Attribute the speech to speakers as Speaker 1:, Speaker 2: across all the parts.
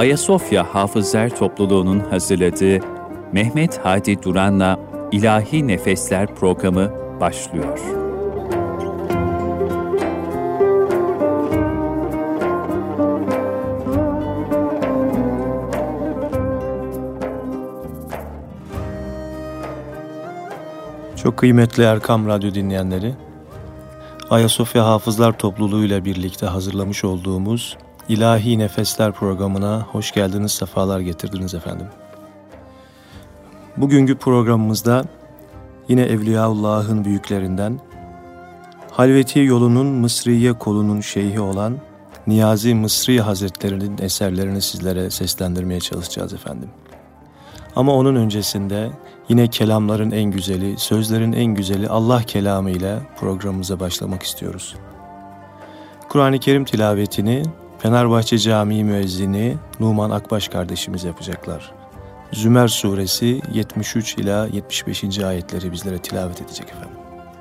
Speaker 1: Ayasofya Hafızlar Topluluğu'nun hazırladığı Mehmet Hadi Duran'la İlahi Nefesler programı başlıyor.
Speaker 2: Çok kıymetli Erkam Radyo dinleyenleri, Ayasofya Hafızlar Topluluğu ile birlikte hazırlamış olduğumuz İlahi Nefesler programına hoş geldiniz, sefalar getirdiniz efendim. Bugünkü programımızda yine Evliyaullah'ın büyüklerinden, Halveti yolunun Mısriye kolunun şeyhi olan Niyazi Mısri Hazretleri'nin eserlerini sizlere seslendirmeye çalışacağız efendim. Ama onun öncesinde yine kelamların en güzeli, sözlerin en güzeli Allah kelamı ile programımıza başlamak istiyoruz. Kur'an-ı Kerim tilavetini Fenerbahçe Camii müezzini Numan Akbaş kardeşimiz yapacaklar. Zümer suresi 73 ila 75. ayetleri bizlere tilavet edecek efendim.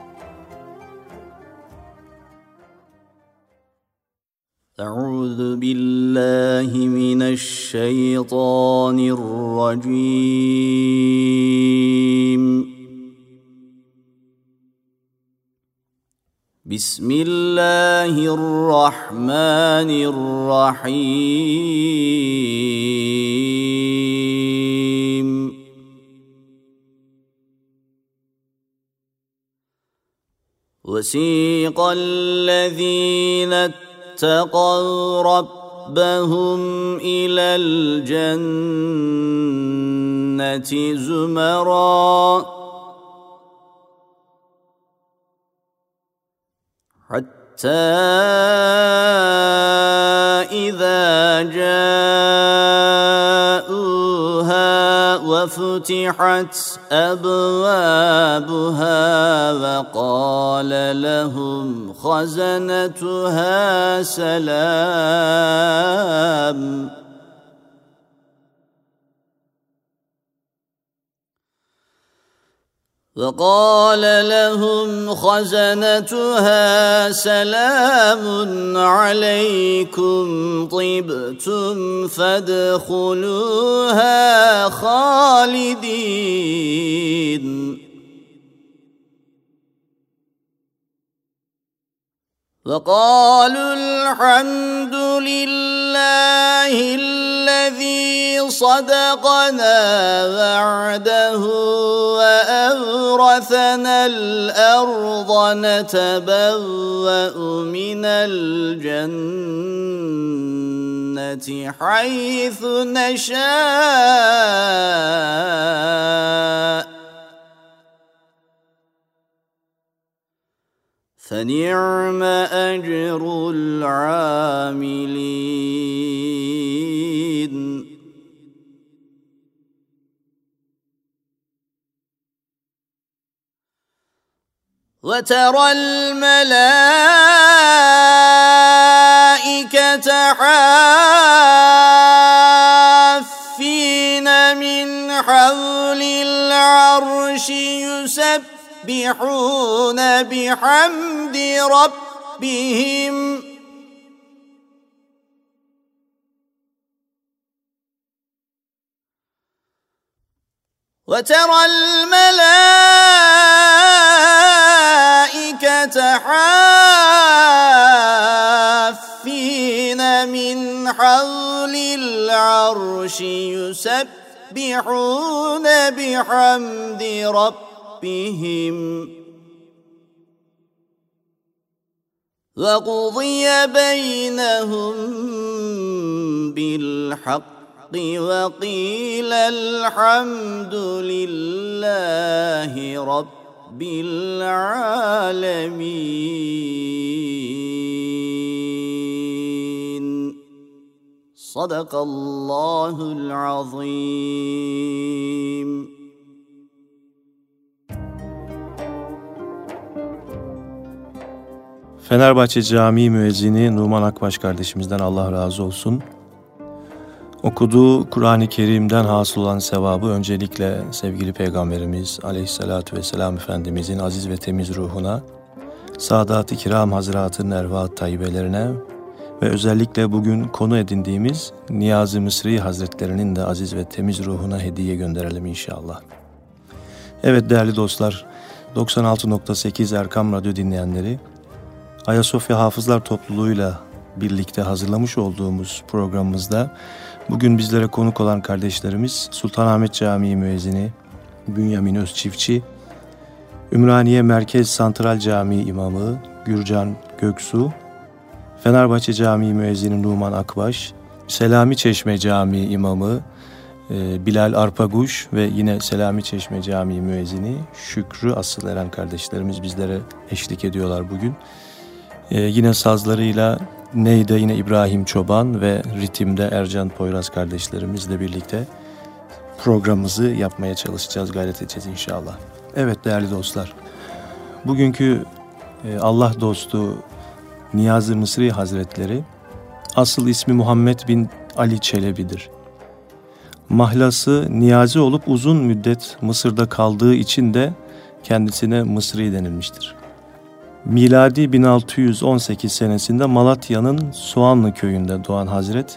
Speaker 3: Euzu billahi mineşşeytanirracim. Bismillahirrahmanirrahim. Vesiqallezîne اتقوا ربهم إلى الجنة زمرا حتى إذا جاءوها وفتحت أبوابها وقال لهم خزنتها سلام عليكم طبتم فادخلوها خالدين وقالوا الحمد لله الذي صدقنا وعده وأورثنا الأرض نتبوأ من الجنة حيث نشاء فنعم أجر العاملين. وترى الملائكة حافين من حول العرش يسبحون بحمد ربهم وترى الملائكة حافين من حول العرش يسبحون بحمد ربهم وقضي بينهم بالحق وقيل الحمد لله رب العالمين. صدق الله العظيم.
Speaker 2: Fenerbahçe Camii müezzini Numan Akbaş kardeşimizden Allah razı olsun. Okuduğu Kur'an-ı Kerim'den hasıl olan sevabı öncelikle sevgili Peygamberimiz Aleyhisselatü Vesselam Efendimizin aziz ve temiz ruhuna, Sadat-ı Kiram Hazretlerinin ervah-ı tayyibelerine ve özellikle bugün konu edindiğimiz Niyazi Mısri Hazretlerinin de aziz ve temiz ruhuna hediye gönderelim inşallah. Evet değerli dostlar, 96.8 Erkam Radyo dinleyenleri, Ayasofya Hafızlar Topluluğu'yla birlikte hazırlamış olduğumuz programımızda bugün bizlere konuk olan kardeşlerimiz Sultanahmet Camii müezzini Bünyamin Özçiftçi, Ümraniye Merkez Santral Camii İmamı Gürcan Göksu, Fenerbahçe Camii müezzini Numan Akbaş, Selami Çeşme Camii İmamı Bilal Arpaguş ve yine Selami Çeşme Camii müezzini Şükrü Asıl Eren kardeşlerimiz bizlere eşlik ediyorlar bugün. Yine sazlarıyla Ney'de yine İbrahim Çoban ve ritimde Ercan Poyraz kardeşlerimizle birlikte programımızı yapmaya çalışacağız, gayret edeceğiz inşallah. Evet değerli dostlar, bugünkü Allah dostu Niyazi Mısri Hazretleri asıl ismi Muhammed bin Ali Çelebi'dir. Mahlası Niyazi olup uzun müddet Mısır'da kaldığı için de kendisine Mısri denilmiştir. Miladi 1618 senesinde Malatya'nın Soğanlı köyünde doğan Hazret,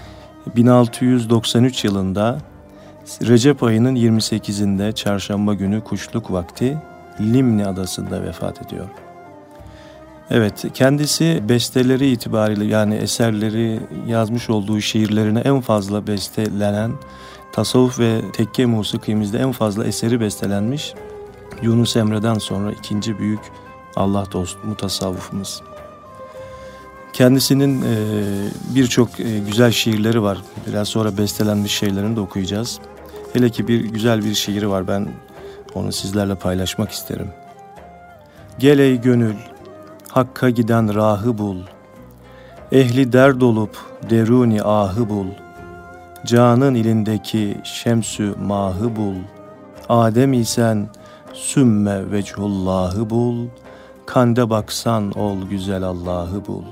Speaker 2: 1693 yılında Recep ayının 28'inde çarşamba günü kuşluk vakti Limni adasında vefat ediyor. Evet, kendisi besteleri itibariyle yani eserleri yazmış olduğu şiirlerine en fazla bestelenen, tasavvuf ve tekke musikimizde en fazla eseri bestelenmiş Yunus Emre'den sonra ikinci büyük Allah dostu mutasavvıfımız. Kendisinin birçok güzel şiirleri var. Biraz sonra bestelenmiş şeylerini de okuyacağız. Hele ki güzel bir şiiri var, ben onu sizlerle paylaşmak isterim. Gel ey gönül, Hakk'a giden rahı bul. Ehli derd olup deruni ahı bul. Canın ilindeki şemsü mahı bul. Adem isen sümme vechullahı bul. Kande baksan ol güzel Allah'ı bul.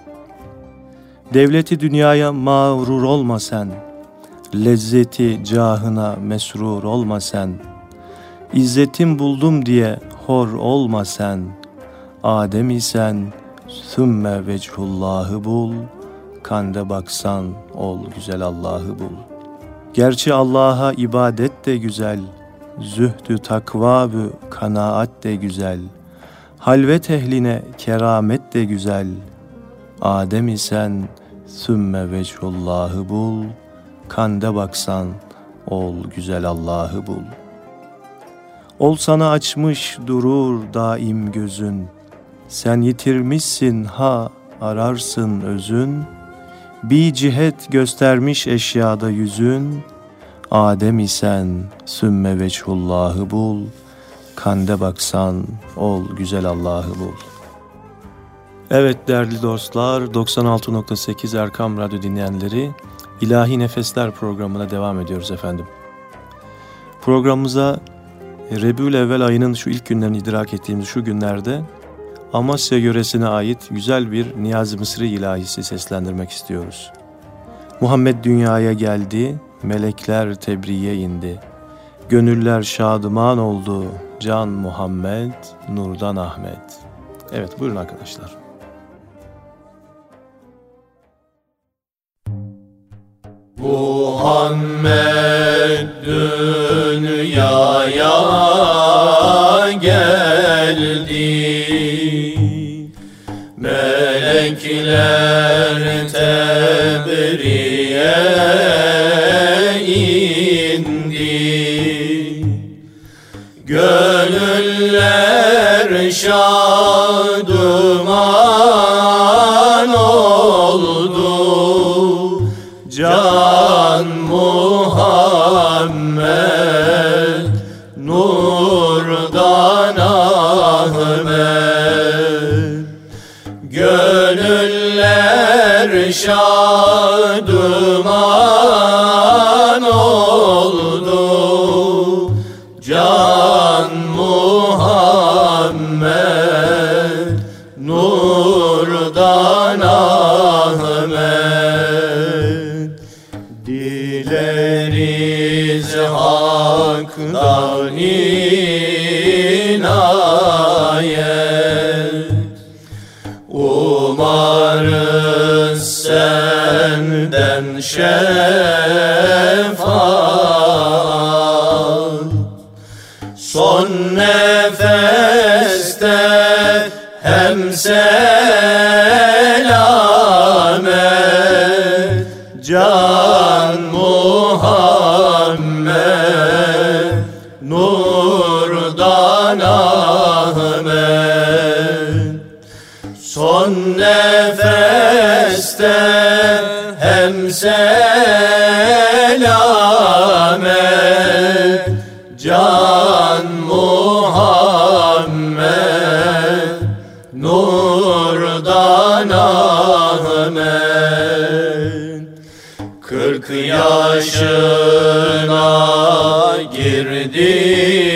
Speaker 2: Devleti dünyaya mağrur olma sen. Lezzeti cahına mesrur olma sen. İzzetim buldum diye hor olma sen. Adem isen sümme vechullahı bul. Kande baksan ol güzel Allah'ı bul. Gerçi Allah'a ibadet de güzel. Zühdü takva-bü kanaat de güzel. Halvet ehline keramet de güzel. Adem isen sümme vechullahı bul. Kande baksan ol güzel Allah'ı bul. Ol sana açmış durur daim gözün. Sen yitirmişsin ha ararsın özün. Bir cihet göstermiş eşyada yüzün. Adem isen sümme vechullahı bul. Kande baksan ol güzel Allah'ı bul. Evet değerli dostlar, 96.8 Erkam Radyo dinleyenleri, İlahi Nefesler programına devam ediyoruz efendim. Programımıza Rebül-Evvel ayının şu ilk günlerini idrak ettiğimiz şu günlerde Amasya yöresine ait güzel bir Niyazi Mısri ilahisi seslendirmek istiyoruz. Muhammed dünyaya geldi, melekler tebriğe indi. Gönüller şadıman oldu, can Muhammed, nurdan Ahmet. Evet buyurun arkadaşlar.
Speaker 4: Muhammed dünyaya geldi, melekler tebriğe indi, gönüller şadıman oldu, can Muhammed, nurdan Ahmet. Gönüller şadıman oldu, can Muhammed, nurdan Ahmet. Dileriz haktan inayet, umarız şefaat. Son nefeste hem selamet, can Muhammed, nurdan Ahmet. Son nefeste hem selamet, can Muhammed, nurdan Ahmet. 40 yaşına girdi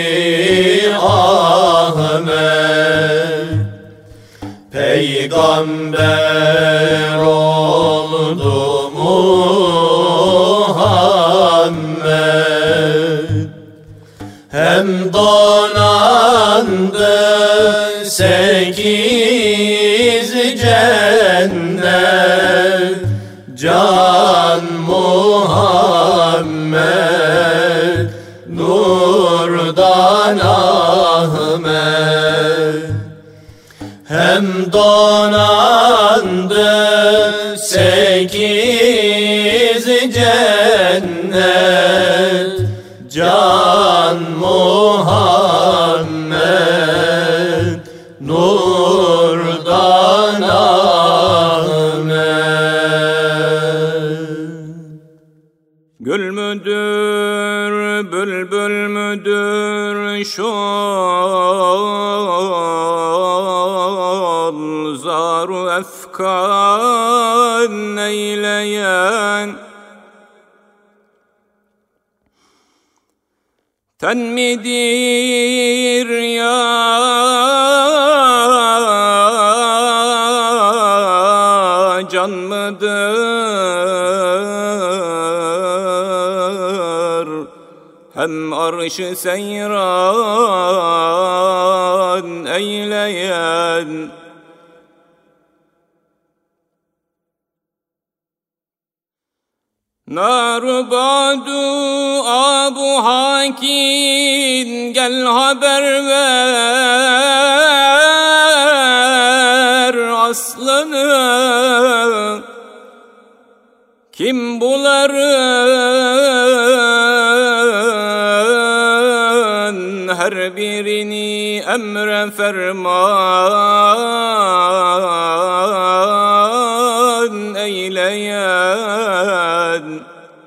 Speaker 4: Ahmet, peygamber oldu Muhammed. Hem donandı 8 cennet, can Muhammed, nurdan Ahmet. Hem donandı 8 cennet, can Muhammed, nurdan Ahmet.
Speaker 5: Gül müdür, bülbül müdür şu zaru efkan eyleyen, ten midir ya can mıdır? Hem arş-ı seyran eyleyen, nar-ı badu Abu Hakin gel haber ver aslanı. Kim bunların her birini emre ferman eyleyen,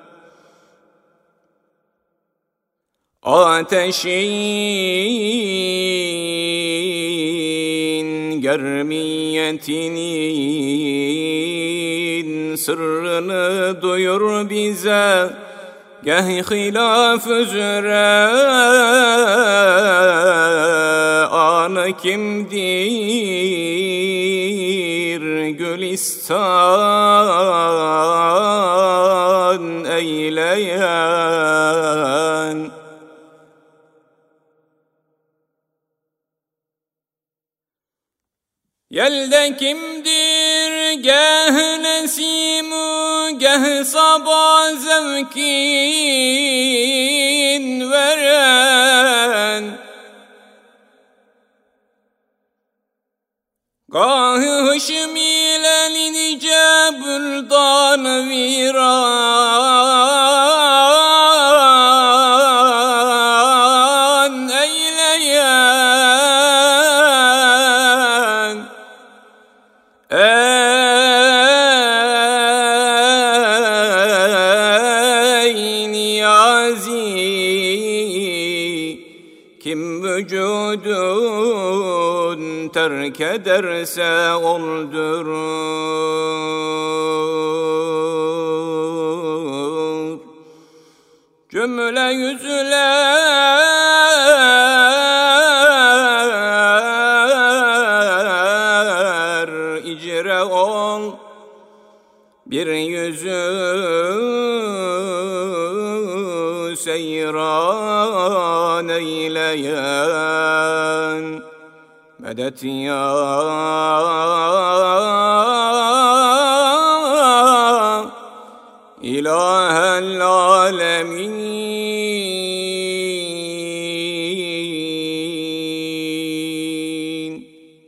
Speaker 5: ateşin germiyetinin sırrını duyur bize. Geh hilaf üzere anı kimdir? Gülistan eyleyen, yelde kimdir geh nesimu geh sabah zevkin veren, gah hışm ile nice büldan viran eyleyen. Ey Niyazi, kim vücudun terk ederse öldürür. Cümle yüzler icre ol, bir yüzü seyran eyleyen. Medet ya العالمين.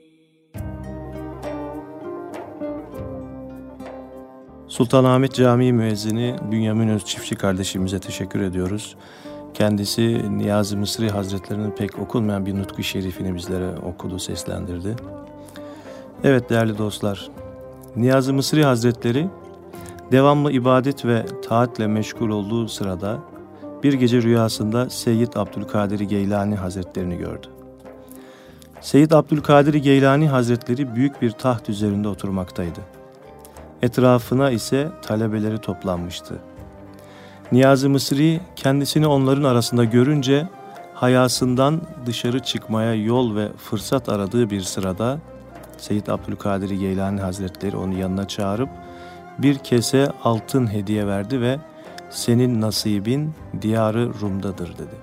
Speaker 2: Sultanahmet Camii müezzini Bünyamin Özçiftçi kardeşimize teşekkür ediyoruz. Kendisi Niyazi Mısri Hazretleri'nin pek okunmayan bir nutku şerifini bizlere okudu, seslendirdi. Evet değerli dostlar, Niyazi Mısri Hazretleri devamlı ibadet ve taatle meşgul olduğu sırada bir gece rüyasında Seyyid Abdülkadir Geylani Hazretlerini gördü. Seyyid Abdülkadir Geylani Hazretleri büyük bir taht üzerinde oturmaktaydı. Etrafına ise talebeleri toplanmıştı. Niyazi Mısri kendisini onların arasında görünce hayasından dışarı çıkmaya yol ve fırsat aradığı bir sırada Seyyid Abdülkadir Geylani Hazretleri onu yanına çağırıp bir kese altın hediye verdi ve senin nasibin diyarı Rum'dadır dedi.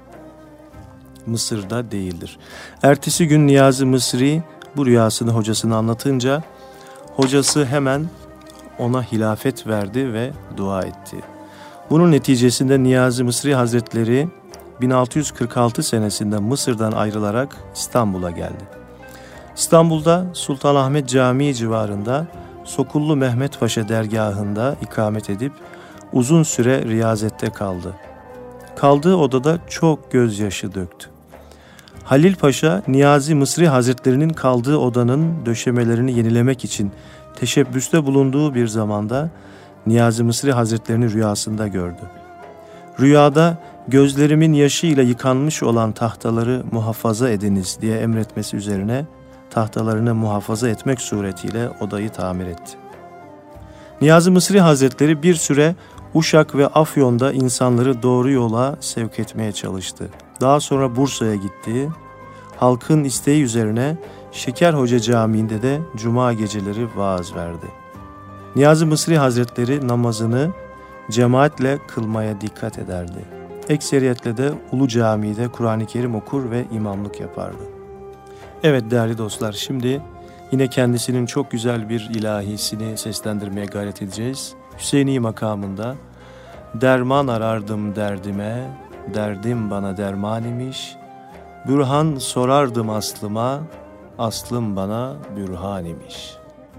Speaker 2: Mısır'da değildir. Ertesi gün Niyazi Mısri bu rüyasını hocasına anlatınca hocası hemen ona hilafet verdi ve dua etti. Bunun neticesinde Niyazi Mısri Hazretleri 1646 senesinde Mısır'dan ayrılarak İstanbul'a geldi. İstanbul'da Sultanahmet Camii civarında Sokullu Mehmet Paşa dergahında ikamet edip uzun süre riyazette kaldı. Kaldığı odada çok gözyaşı döktü. Halil Paşa, Niyazi Mısri Hazretlerinin kaldığı odanın döşemelerini yenilemek için teşebbüste bulunduğu bir zamanda Niyazi Mısri Hazretlerini rüyasında gördü. Rüyada gözlerimin yaşıyla yıkanmış olan tahtaları muhafaza ediniz diye emretmesi üzerine tahtalarını muhafaza etmek suretiyle odayı tamir etti. Niyazi Mısri Hazretleri bir süre Uşak ve Afyon'da insanları doğru yola sevk etmeye çalıştı. Daha sonra Bursa'ya gitti. Halkın isteği üzerine Şekerhoca Camii'nde de cuma geceleri vaaz verdi. Niyazi Mısri Hazretleri namazını cemaatle kılmaya dikkat ederdi. Ekseriyetle de Ulu Camii'de Kur'an-ı Kerim okur ve imamlık yapardı. Evet değerli dostlar, şimdi yine kendisinin çok güzel bir ilahisini seslendirmeye gayret edeceğiz. Hüseyni makamında derman arardım derdime, derdim bana derman imiş. Bürhan sorardım aslıma, aslım bana bürhan imiş.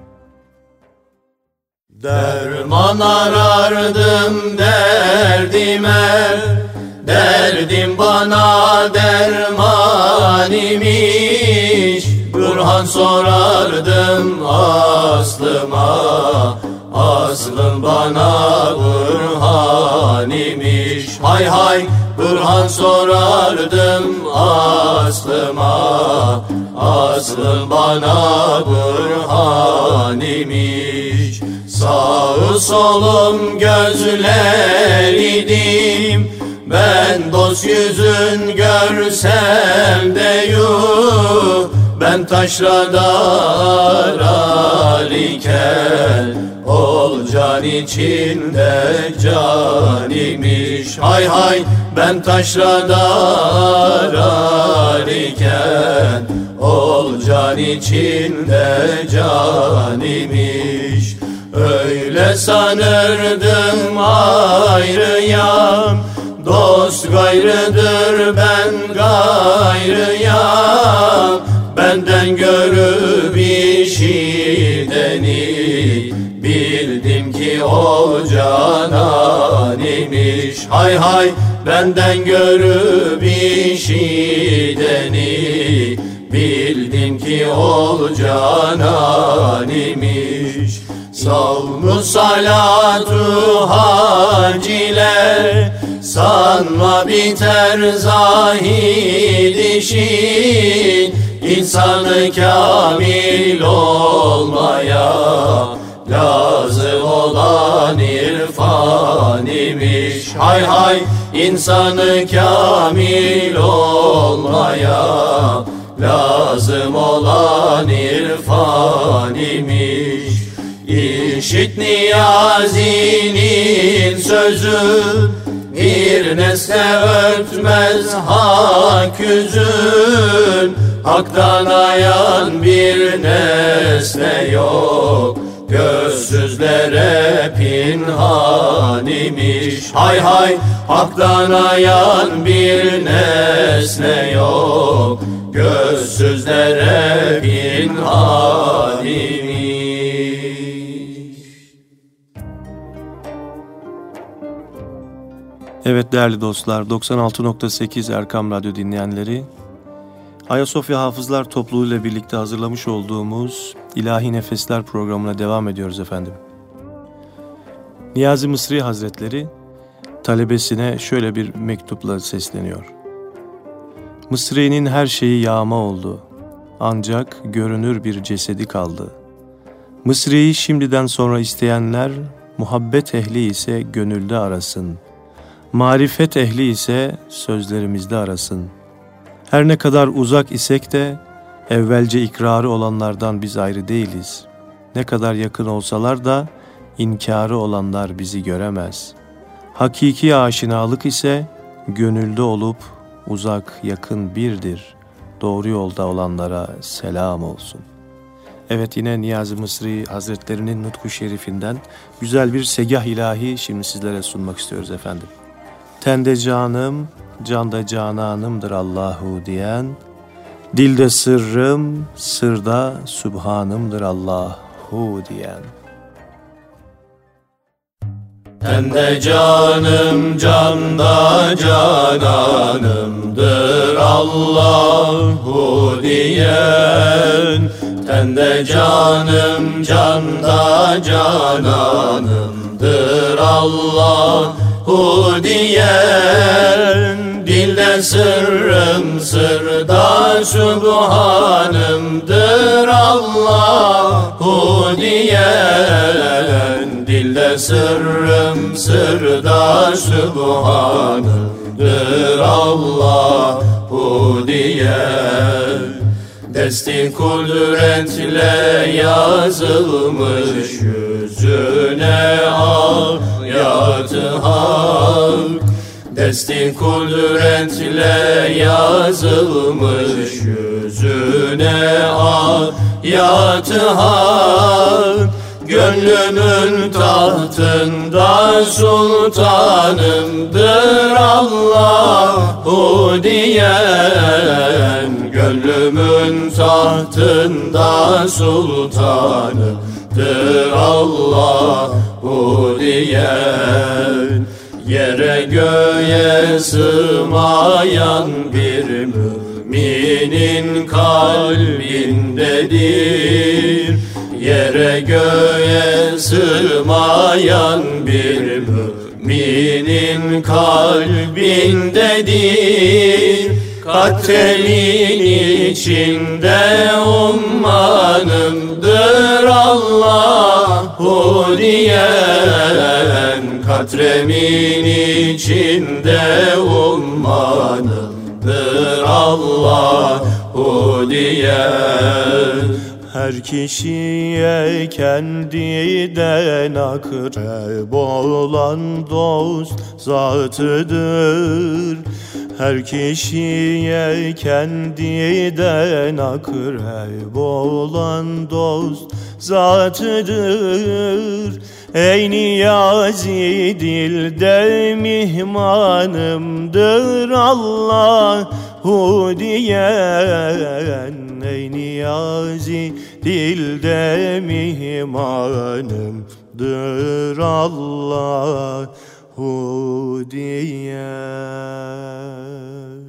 Speaker 4: Derman arardım derdime, derdim bana derman imiş. Burhan sorardım aslıma, aslım bana burhan imiş. Hay hay Burhan sorardım aslıma, aslım bana burhan imiş. Sağı solum gözler idim, ben dost yüzün görsem de yuh. Ben taşrada arar iken, ol can içinde can imiş. Hay hay ben taşrada arar iken, ol can içinde can imiş. Öyle sanırdım ayrıyam, dost gayrıdır ben gayrıyam. Benden görüp işiteni, bildim ki o canan imiş. Hay hay benden görüp işiteni, bildim ki o canan imiş. Savmu salatu haciler, sanma biter zahid işin. İnsanı kamil olmaya lazım olan irfan imiş. Hay hay insanı kamil olmaya lazım olan irfan imiş. İşit Niyazi'nin sözü, bir nesne örtmez hak yüzün. Hak'tan ayan bir nesne yok, gözsüzlere pinhan imiş. Hay hay, haktan ayan bir nesne yok, gözsüzlere pinhan imiş.
Speaker 2: Evet değerli dostlar, 96.8 Erkam Radyo dinleyenleri, Ayasofya Hafızlar Topluluğu ile birlikte hazırlamış olduğumuz İlahi Nefesler programına devam ediyoruz efendim. Niyazi Mısri Hazretleri talebesine şöyle bir mektupla sesleniyor. Mısri'nin her şeyi yağma oldu, ancak görünür bir cesedi kaldı. Mısri'yi şimdiden sonra isteyenler, muhabbet ehli ise gönülde arasın. Marifet ehli ise sözlerimizde arasın. Her ne kadar uzak isek de evvelce ikrarı olanlardan biz ayrı değiliz. Ne kadar yakın olsalar da inkarı olanlar bizi göremez. Hakiki aşinalık ise gönülde olup uzak yakın birdir. Doğru yolda olanlara selam olsun. Evet, yine Niyazi Mısri Hazretlerinin Nutku Şerifinden güzel bir segah ilahi şimdi sizlere sunmak istiyoruz efendim. Tende canım, canda cananımdır Allahu diyen, dilde sırrım, sırda Sübhanımdır Allahu diyen.
Speaker 4: Tende canım, canda cananımdır Allahu diyen, tende canım, canda cananımdır Allahu diyen, dilde sırrım, sırda Sübhanımdır Allahu diyen, dilde sırrım, sırda Sübhanımdır Allahu diyen. Desti kudretle yazılmış yüzüne ayat-ı hak, desti kudretle yazılmış yüzüne ayat-ı hak. Gönlümün tahtında sultanımdır Allahu diyen, gönlümün tahtında sultanımdır Allahu diyen. Yere göğe sığmayan bir müminin kalbindedir. Yere göğe sığmayan bir müminin kalbindedir. Katremin içinde ummanımdır Allahu diyen, katremin içinde ummanımdır Allahu diyen.
Speaker 2: Her kişiye kendiden akrep olan dost zatıdır. Her kişiye kendinden akrep olan dost zatıdır. Ey Niyazi dilde mihmanımdır Allahu diyen. Ey Niyazi dilde mihmanımdır Allahu diyen.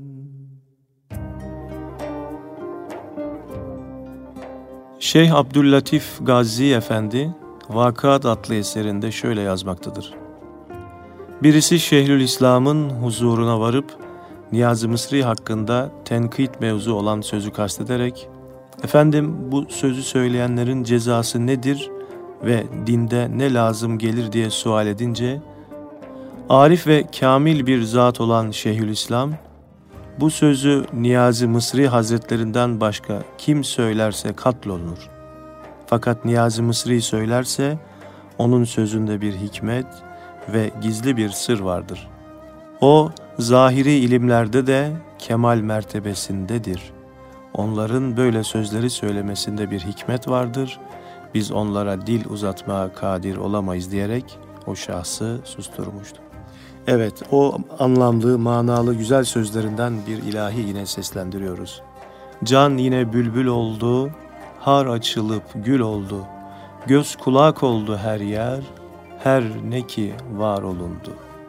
Speaker 2: Şeyh Abdüllatif Gazi Efendi Vakıat adlı eserinde şöyle yazmaktadır. Birisi Şeyhülislam'ın huzuruna varıp Niyazi Mısri hakkında tenkit mevzu olan sözü kastederek, "Efendim, bu sözü söyleyenlerin cezası nedir ve dinde ne lazım gelir?" diye sual edince, arif ve kamil bir zat olan Şeyhülislam, "Bu sözü Niyazi Mısri Hazretlerinden başka kim söylerse katlolunur. Fakat Niyazi Mısri söylerse onun sözünde bir hikmet ve gizli bir sır vardır. O zahiri ilimlerde de kemal mertebesindedir. Onların böyle sözleri söylemesinde bir hikmet vardır, biz onlara dil uzatmaya kadir olamayız diyerek o şahsı susturmuştu. Evet, o anlamlı, manalı, güzel sözlerinden bir ilahi yine seslendiriyoruz. Can yine bülbül oldu, har açılıp gül oldu. Göz kulak oldu her yer, her ne ki var olundu.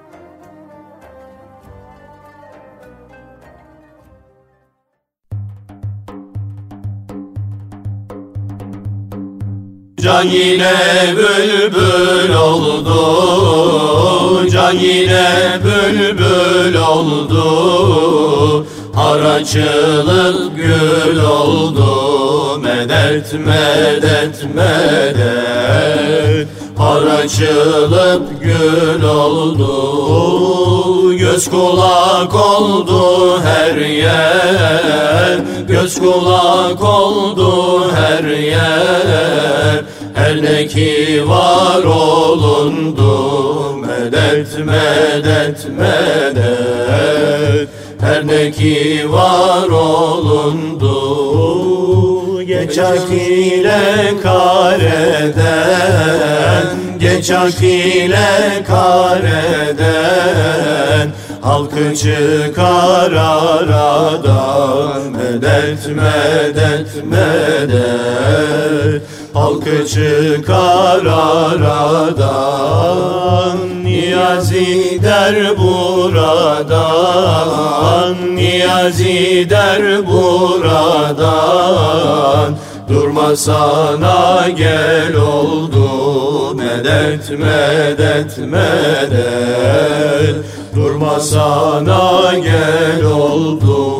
Speaker 4: Can yine bülbül oldu, can yine bülbül oldu, har açılıp gül oldu, medet medet medet, har açılıp gül oldu, göz kulak oldu her yer, göz kulak oldu her yer, her ne ki var olundu, medet medet medet, her ne ki var olundu. Geç ak ile kareden, geç ak ile kareden, halkı çıkar aradan, medet medet medet, halkı çıkar aradan. Niyazi der buradan, niyazi der buradan, durma sana gel oldu, medet medet medet, durma sana gel oldu.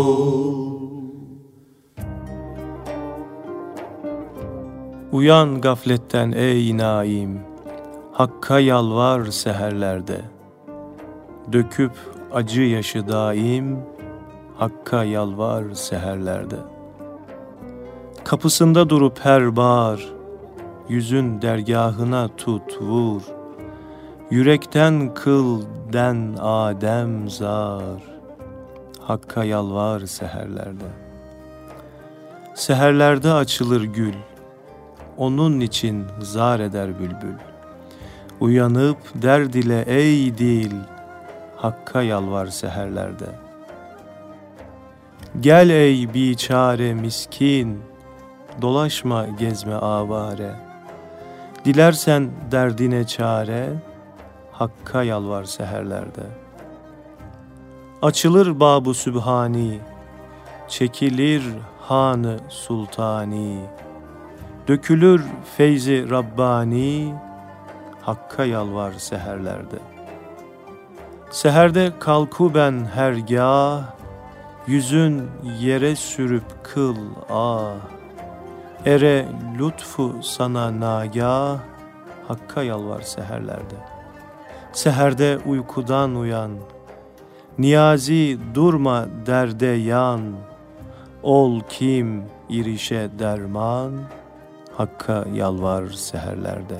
Speaker 2: Uyan gafletten ey naim, Hakka yalvar seherlerde. Döküp acı yaşı daim, Hakka yalvar seherlerde. Kapısında durup her bağır, yüzün dergahına tut vur. Yürekten kıl den Adem zar, Hakka yalvar seherlerde. Seherlerde açılır gül, onun için zar eder bülbül. Uyanıp derd ile ey dil, Hakka yalvar seherlerde. Gel ey biçare miskin, dolaşma gezme avare. Dilersen derdine çare, Hakka yalvar seherlerde. Açılır Bab-ı Sübhani, çekilir Han-ı Sultani. Dökülür feyzi Rabbani, Hakka yalvar seherlerde. Seherde kalku ben hergâh, yüzün yere sürüp kıl ah. Ere lütfu sana nagâh, Hakka yalvar seherlerde. Seherde uykudan uyan, niyazi durma derde yan. Ol kim irişe derman, Hakka yalvar seherlerde.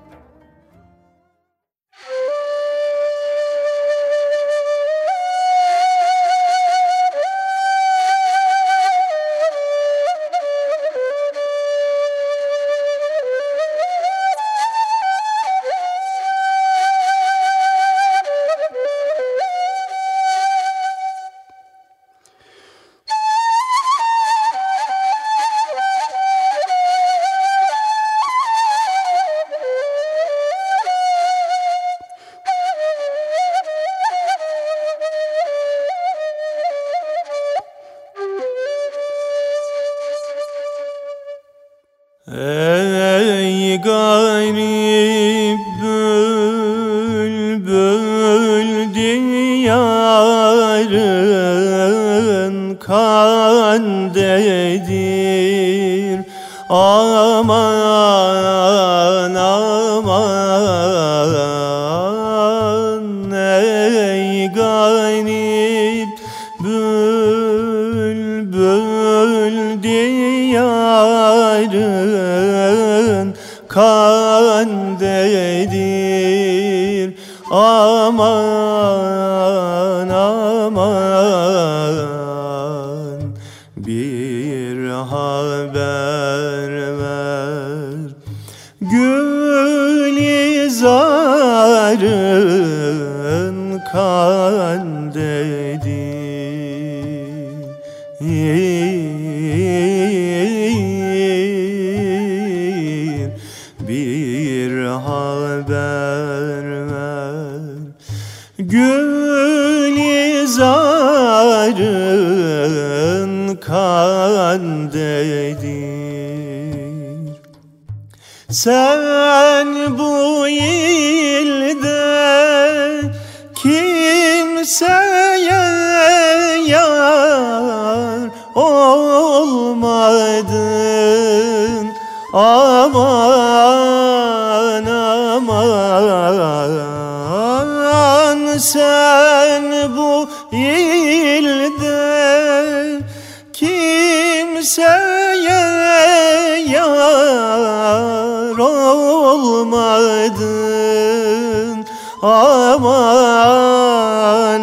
Speaker 2: Ey garip bülbül diyarın kandedir. Aman aman ey garip bülbül diyarın kandedir. Aman aman bir haber ver, zarın kandedir, bir haber ver. Gülizarın kandedir. Sen bu ilde kimseye yar olmadın. Aman aman, sen bu ilde kimseye yar olmadın. Aman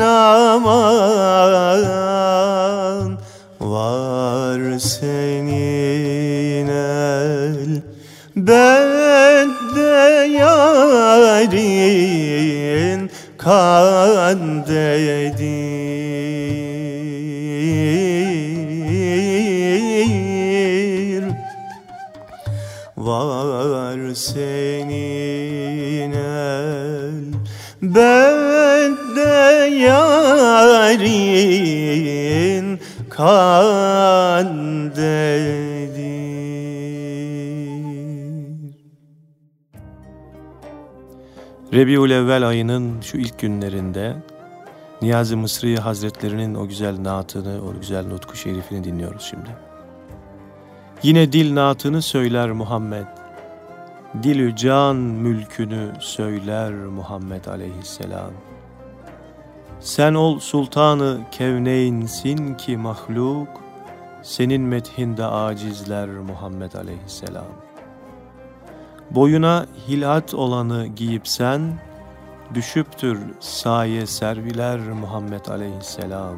Speaker 2: aman, var senin el bende yarin kandedir. Var senin el bende yarin kandedir. Rebiülevvel ayının şu ilk günlerinde Niyazi Mısri Hazretlerinin o güzel naatını, o güzel nutku şerifini dinliyoruz şimdi. Yine dil naatını söyler Muhammed, dilü can mülkünü söyler Muhammed aleyhisselam. Sen ol sultanı kevneynsin ki mahluk, senin methinde acizler Muhammed aleyhisselam. Boyuna hilat olanı giyip sen, düşüptür saye serviler Muhammed aleyhisselam.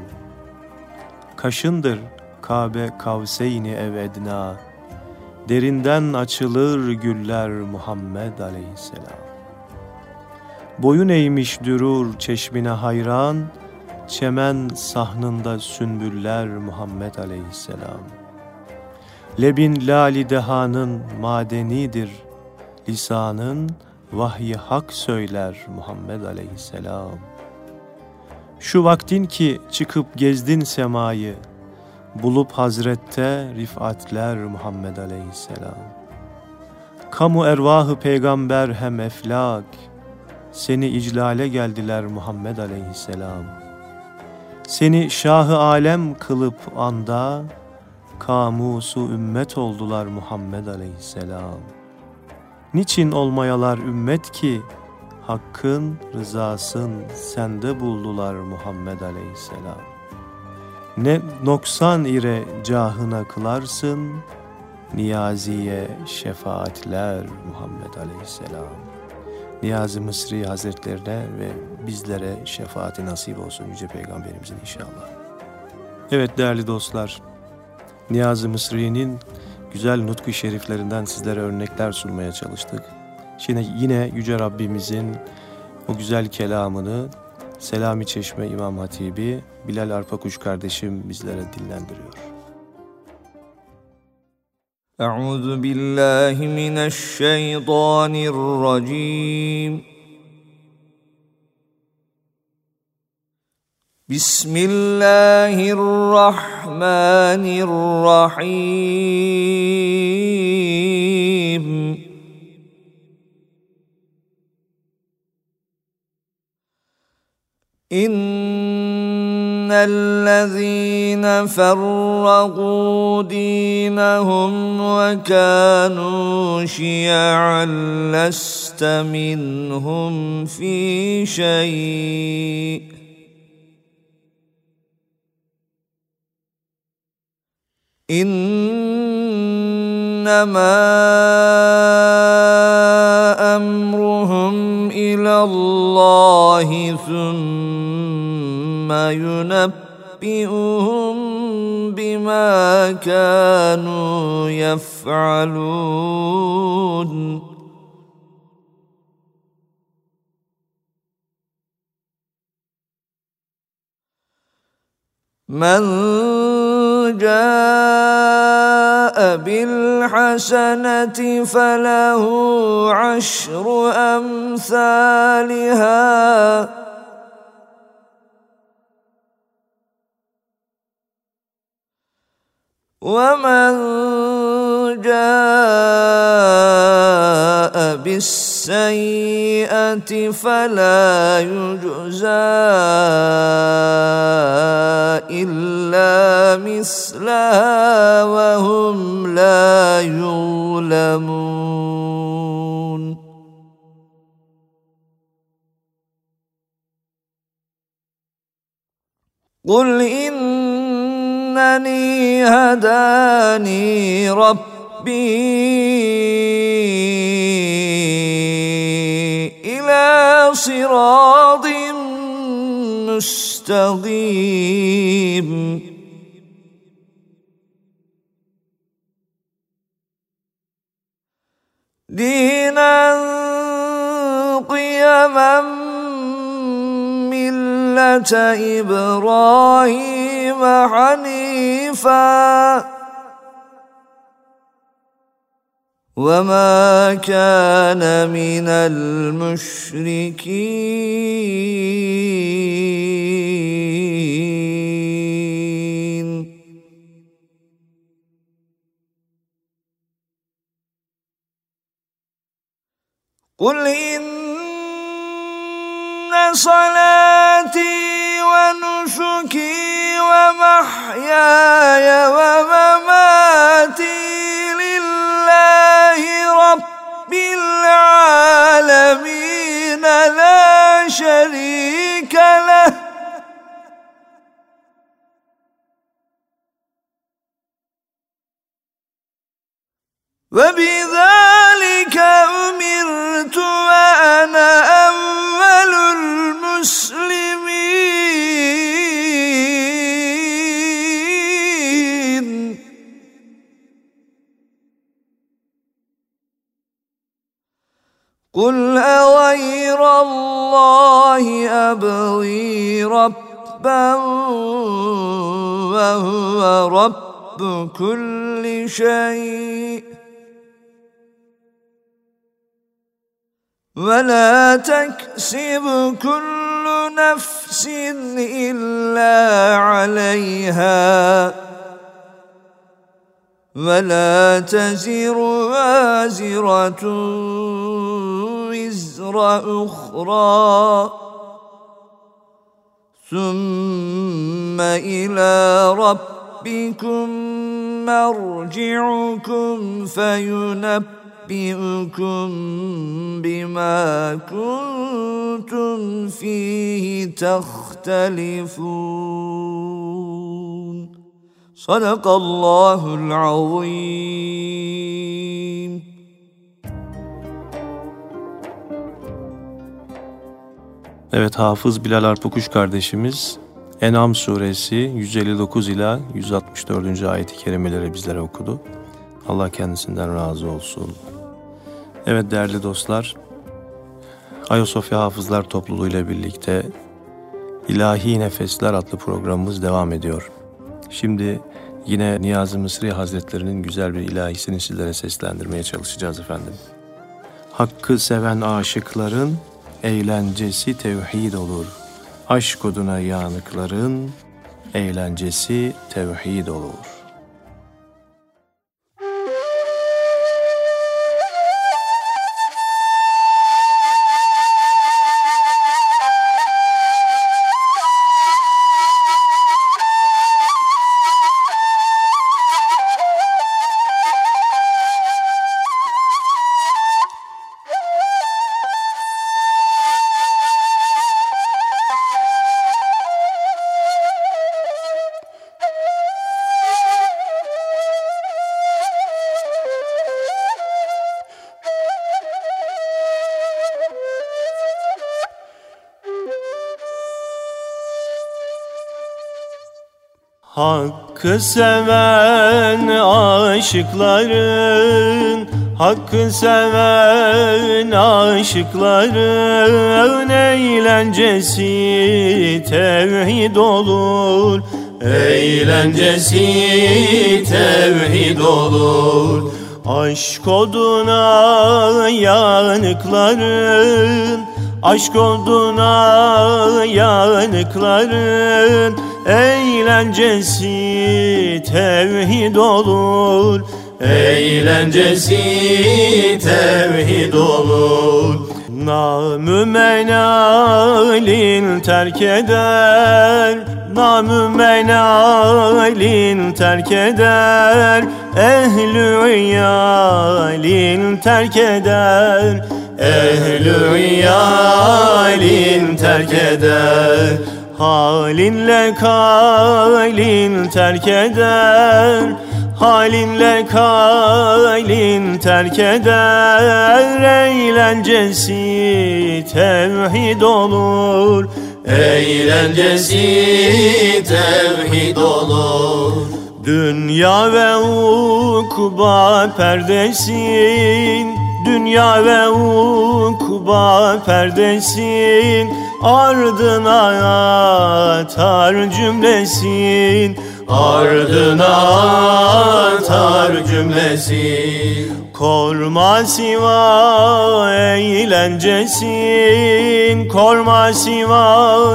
Speaker 2: Kaşındır Kabe Kavseyni ev edna, derinden açılır güller Muhammed aleyhisselam. Boyun eğmiş dürur çeşmine hayran, çemen sahnında sünbüller Muhammed aleyhisselam. Lebin lali dehanın madenidir, lisanın vahyi hak söyler Muhammed aleyhisselam. Şu vaktin ki çıkıp gezdin semayı, bulup hazrette rifatler Muhammed aleyhisselam. Kamu ervahı peygamber hem eflak, seni iclale geldiler Muhammed aleyhisselam. Seni şah-ı alem kılıp anda, kamusu ümmet oldular Muhammed aleyhisselam. Niçin olmayalar ümmet ki, hakkın rızasın sende buldular Muhammed aleyhisselam. Ne noksan ile cahına kılarsın, Niyazi'ye şefaatler Muhammed aleyhisselam. Niyazi Mısri Hazretlerine ve bizlere şefaati nasip olsun Yüce Peygamberimizin inşallah. Evet değerli dostlar, Niyazi Mısri'nin güzel nutku şeriflerinden sizlere örnekler sunmaya çalıştık. Şimdi yine Yüce Rabbimizin o güzel kelamını Selami Çeşme İmam Hatibi Bilal Arpakuş kardeşim bizlere dinlendiriyor.
Speaker 6: Euzu billahi mineşşeytanirracim. Bismillahirrahmanirrahim. İnnellezîne ferragû dînehum ve kânû şi'an leste minhum fî şey'. İnnemâ emruhum ilallâhi thumme yunebbi'uhum bimâ kânû yef'alûn. من جاء بالحسنة فله عشر أمثالها ومن جاء بالسيئة فلا يجزى إلا مثلها وهم لا يظلمون قل إنني هداني ربي إلى صراط مستقيم دينا قيما ملة إبراهيم حنيفا وما كان من المشركين قل إن صلاتي ونسكي ومحياي ومماتي لله رب العالمين لا شريك له وبذلك أمرت وأنا أول المسلمين قل أغير الله أبغي ربا وهو رب كل شيء ولا تكسب كل نفس إلا عليها ولا تزر وازرة وزر أخرى ثم إلى ربكم مرجعكم فينبئكم بما كنتم فيه تختلفون صدق الله العظيم.
Speaker 2: Evet, Hafız Bilal Arpukuş kardeşimiz En'am suresi 159 ila 164. ayet-i kerimeleri bizlere okudu. Allah kendisinden razı olsun. Evet değerli dostlar, Ayasofya Hafızlar Topluluğu ile birlikte İlahi Nefesler adlı programımız devam ediyor. Şimdi yine Niyazi Mısri Hazretleri'nin güzel bir ilahisini sizlere seslendirmeye çalışacağız efendim. Hakkı seven aşıkların eğlencesi tevhid olur. Aşk oduna yanıkların eğlencesi tevhid olur.
Speaker 4: Hakkı seven aşıkların, hakkı seven aşıkların eğlencesi tevhid olur. eğlencesi tevhid olur. Aşk oduna yanıkların, aşk oduna yanıkların eğlencesi tevhid olur. Eğlencesi tevhid olur. Namü menalin terk eder, namü menalin terk eder, ehl-i iyalin terk eder, ehl-i iyalin terk eder. Halinle kalin terk eder, halinle kalin terk eder, eğlencesi tevhid olur. Eğlencesi tevhid olur. Dünya ve ukba perdesin, dünya ve ukba perdesin, ardına atar cümlesin, ardına atar cümlesin. Korma siva eğlencesin, korma siva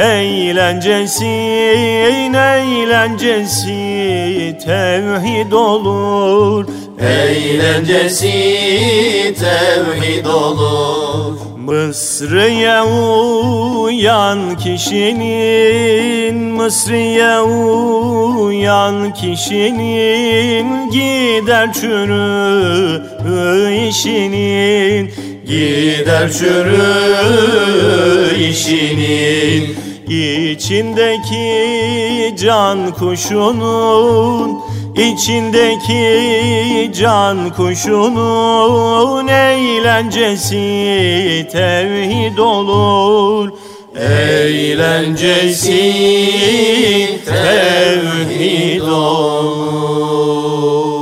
Speaker 4: eğlencesin, eğlencesi tevhid olur. Eğlencesi tevhid olur. Mısır'ya uyan kişinin, Mısır'ya uyan kişinin gider çürü işinin, gider çürü işinin. İçindeki can kuşunun, İçindeki can kuşunun eğlencesi tevhid olur. Eğlencesi tevhid olur.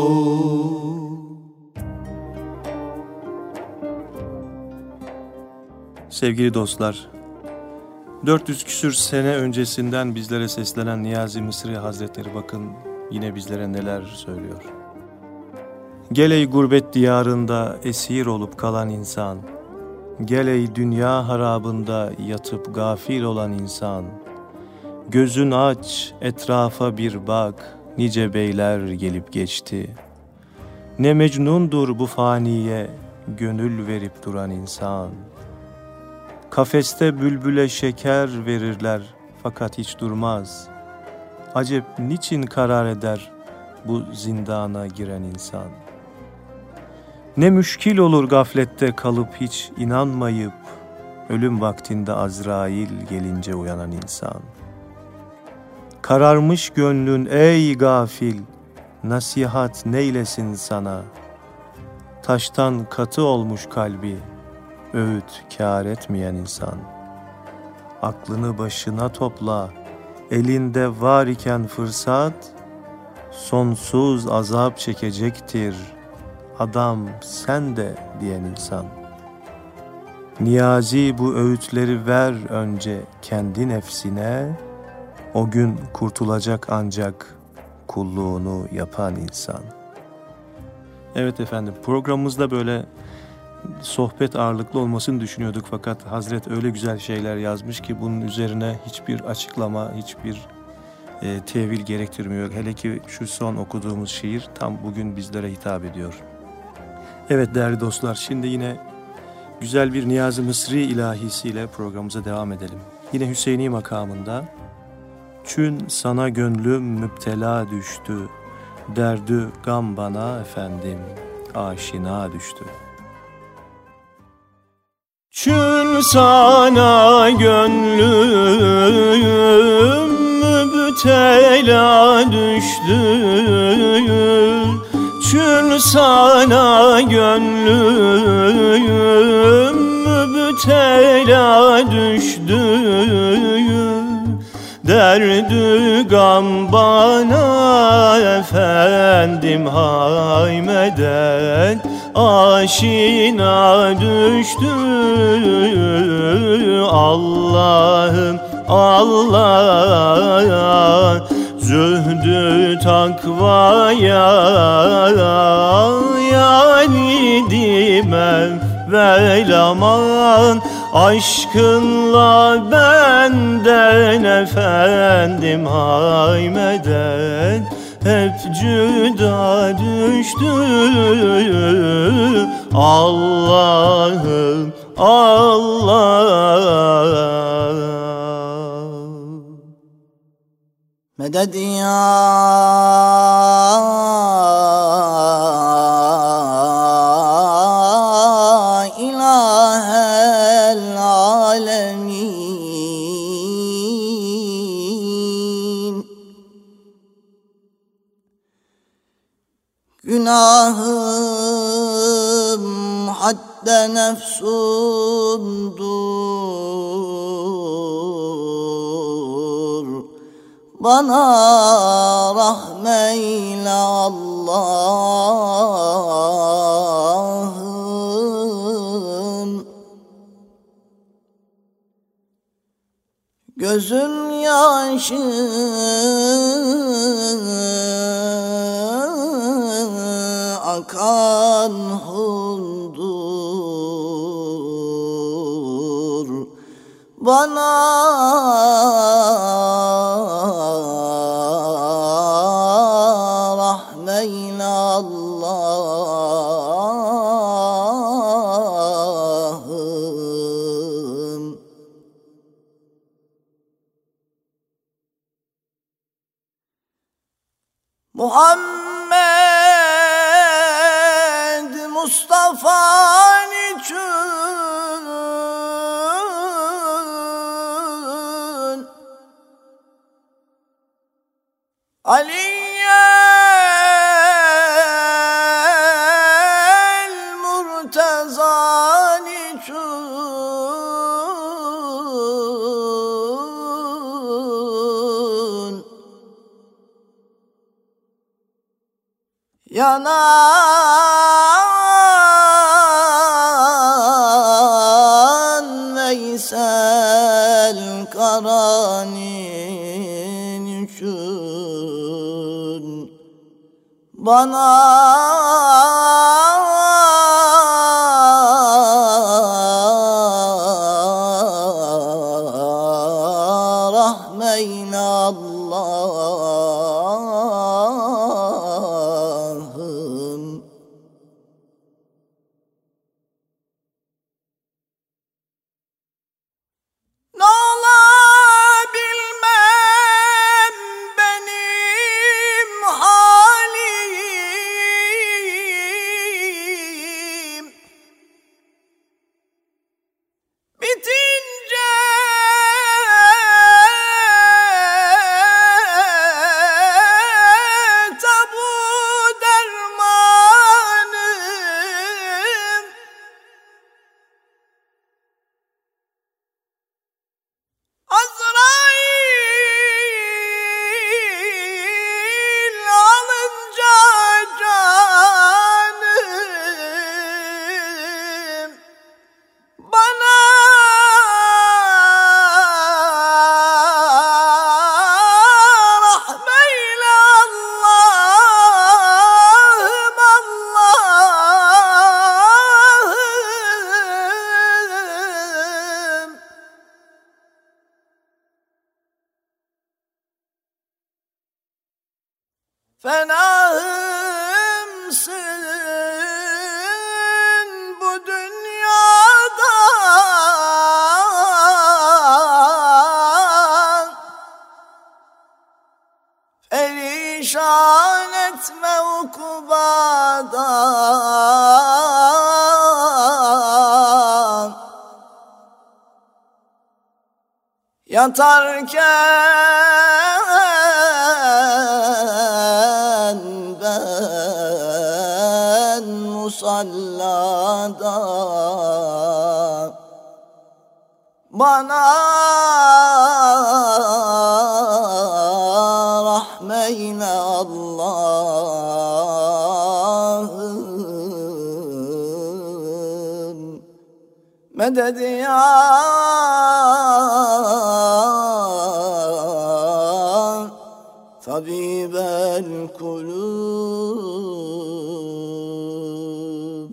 Speaker 2: Sevgili dostlar, 400 küsür sene öncesinden bizlere seslenen Niyazi Mısri Hazretleri bakın yine bizlere neler söylüyor. Gel ey gurbet diyarında esir olup kalan insan, gel ey dünya harabında yatıp gafil olan insan, gözün aç etrafa bir bak, nice beyler gelip geçti. Ne mecnundur bu faniye gönül verip duran insan. Kafeste bülbüle şeker verirler fakat hiç durmaz. Acep niçin karar eder bu zindana giren insan? Ne müşkil olur gaflette kalıp hiç inanmayıp, ölüm vaktinde Azrail gelince uyanan insan. Kararmış gönlün ey gafil, nasihat neylesin sana? Taştan katı olmuş kalbi, öğüt kâr etmeyen insan. Aklını başına topla, elinde var iken fırsat, sonsuz azap çekecektir adam sen de diyen insan. Niyazi bu öğütleri ver önce kendi nefsine, o gün kurtulacak ancak kulluğunu yapan insan. Evet efendim, programımızda böyle sohbet ağırlıklı olmasını düşünüyorduk fakat Hazret öyle güzel şeyler yazmış ki bunun üzerine hiçbir açıklama, hiçbir tevil gerektirmiyor. Hele ki şu son okuduğumuz şiir tam bugün bizlere hitap ediyor. Evet değerli dostlar, şimdi yine güzel bir Niyazi Mısri ilahisiyle programımıza devam edelim. Yine Hüseyini makamında. Çün sana gönlüm müptela düştü, derdü gam bana efendim aşina düştü.
Speaker 4: Çün sana gönlüm müptela düştü, çün sana gönlüm müptela düştü, derdü gam bana efendim hay medet aşina düştü. Allah'ım Allah Zühdü takvaya yani dimem vel aman. Aşkınla benden efendim haymeden hep cüda düştü. Allah'ım Allah.
Speaker 3: Medet ya ilahel alemin. Günahım hadde nefsundur. Bana rahmeyle Allah'ım. Gözüm yaşı akan hundur. Bana rahmeyle Allah'ım. Muhammed Mustafa'nın için Aliyyel Murteza'nın için yanan Veysel Karani'nin için bana rahmeyle Allah'ım. Ne ola bilmem benim halim, bitince tabu dermanım. Azrail alınca canım bana rahmeyle Allah'ım Allah'ım. Fenahımsın bu dünyada, perişan etme ukubada. Yatarken ben musallada bana rahmeyle Allah'ım. Medet ya Tabibel kulub.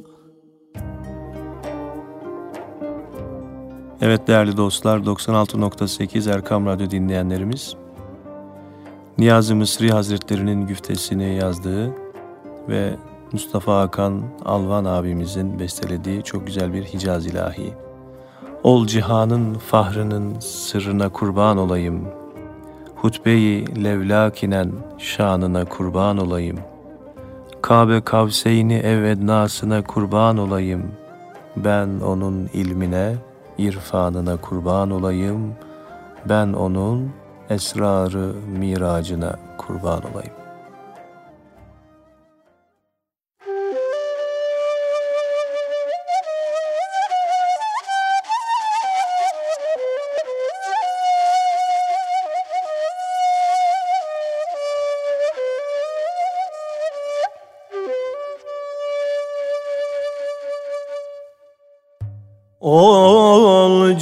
Speaker 2: Evet değerli dostlar, 96.8 Erkam Radyo dinleyenlerimiz, Niyazi Mısri Hazretleri'nin güftesini yazdığı ve Mustafa Hakan Alvan abimizin bestelediği çok güzel bir Hicaz ilahi. Ol cihanın fahrının sırrına kurban olayım, hutbe-i levlakinen şanına kurban olayım, Kabe Kavseyni ev ednasına kurban olayım, ben onun ilmine, irfanına kurban olayım, ben onun esrarı miracına kurban olayım.
Speaker 4: Ol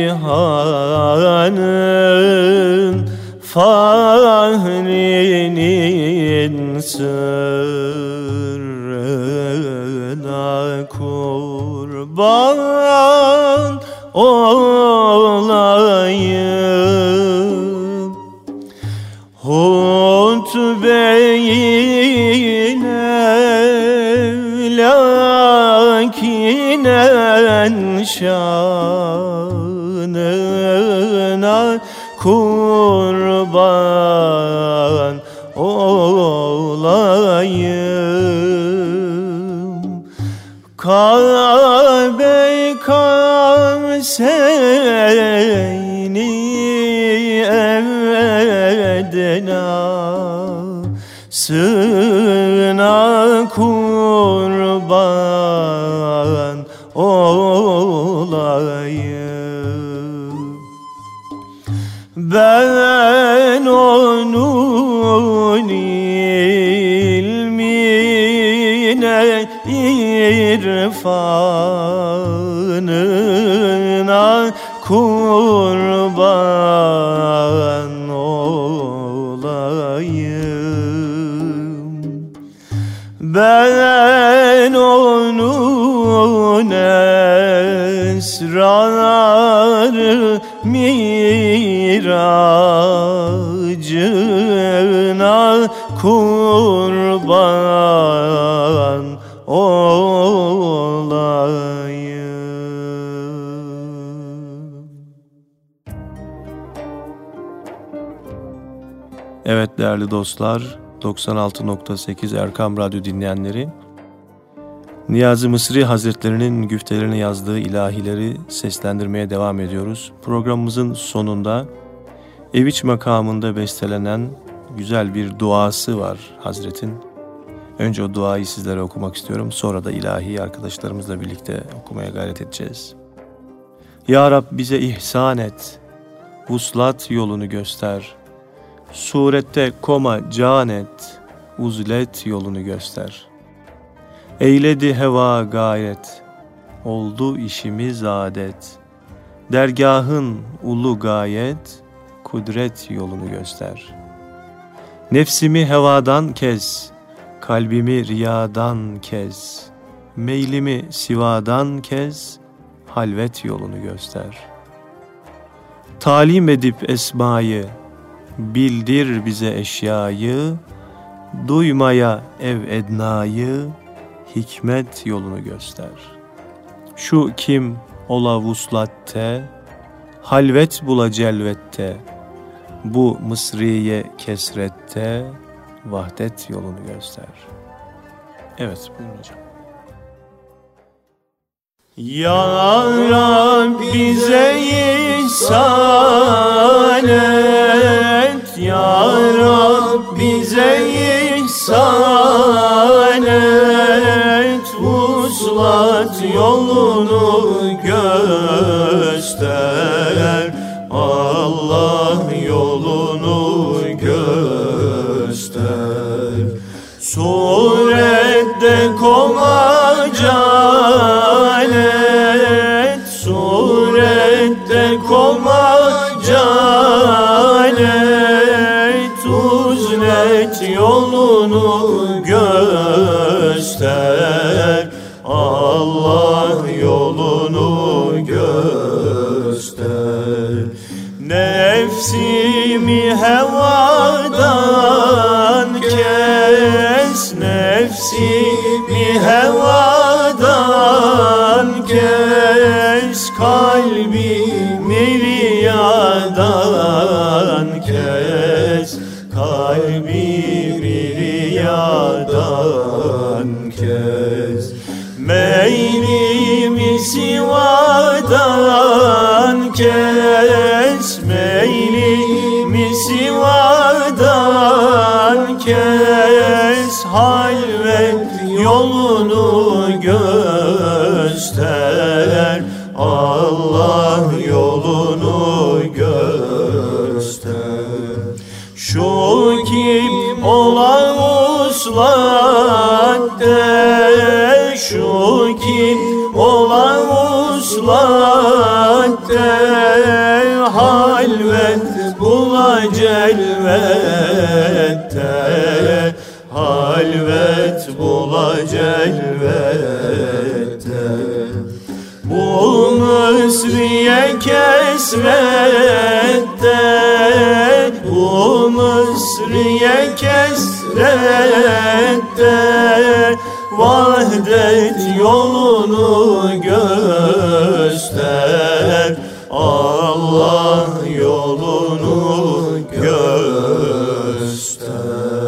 Speaker 4: cihanın fahrinin sırrına kurban olayım, hutbe-i levlakinen şanına kurban olayım, Kabe Kavseyni ednasına kurban olayım, ben onun ilmine, irfanına kurban olayım, ben onun esrarı miracına kurban olayım.
Speaker 2: Evet değerli dostlar, 96.8 Erkam Radyo dinleyenleri, Niyazi Mısri Hazretleri'nin güftelerini yazdığı ilahileri seslendirmeye devam ediyoruz. Programımızın sonunda Eviç makamında bestelenen güzel bir duası var Hazret'in. Önce o duayı sizlere okumak istiyorum. Sonra da ilahi arkadaşlarımızla birlikte okumaya gayret edeceğiz. Ya Rab bize ihsan et, vuslat yolunu göster. Surette koma can et, uzlet yolunu göster. Eyledi heva gayret, oldu işimiz adet. Dergahın ulu gayet, kudret yolunu göster. Nefsimi hevadan kes, kalbimi riyadan kes. Meylimi sivadan kes, halvet yolunu göster. Talim edip esmayı, bildir bize eşyayı. Duymaya ev ednayı, hikmet yolunu göster. Şu kim ola vuslatte, halvet bula celvette. Bu Mısriye kesrette, vahdet yolunu göster. Evet, buyurun hocam.
Speaker 4: Ya Rab bize ihsan et, Ya Rab bize ihsan et, vuslat yolunu göster, Allah yolunu göster. Surette koma can et, surette koma can et, uzlet göster, Allah yolunu göster. Nefsimi hevadan kes, nefsimi hevadan kes, kalbimi riyadan kes, kalbimi riyadan kes. Meylimi sivadan kes, meylimi sivadan kes, halvet yolunu göster, Allah yolunu göster. Şu kim ola uslatte, şu kim ola uslatte, halvet bula celvette, halvet bula celvette. Bu Mısriye kesrette, bu Mısriye kesrette, vahdet yolunu göster, Allah yolunu göster.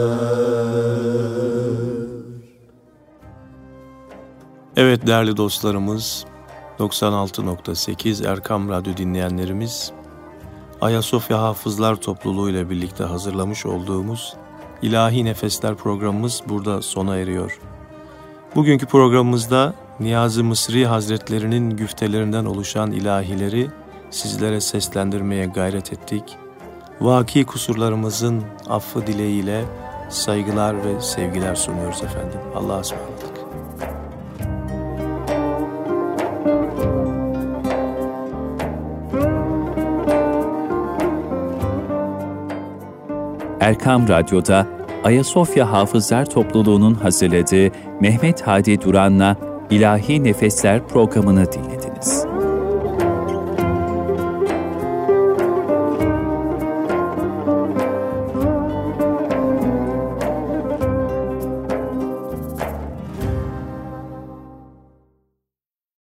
Speaker 2: Evet değerli dostlarımız, 96.8 Erkam Radyo dinleyenlerimiz, Ayasofya Hafızlar Topluluğu ile birlikte hazırlamış olduğumuz İlahi Nefesler programımız burada sona eriyor. Bugünkü programımızda Niyazi Mısri Hazretleri'nin güftelerinden oluşan ilahileri sizlere seslendirmeye gayret ettik. Vaki kusurlarımızın affı dileğiyle saygılar ve sevgiler sunuyoruz efendim. Allah'a ısmarladık.
Speaker 1: Erkam Radyo'da Ayasofya Hafızlar Topluluğu'nun hazırladığı Mehmet Hadi Duran'la İlahi Nefesler programını dinlediniz.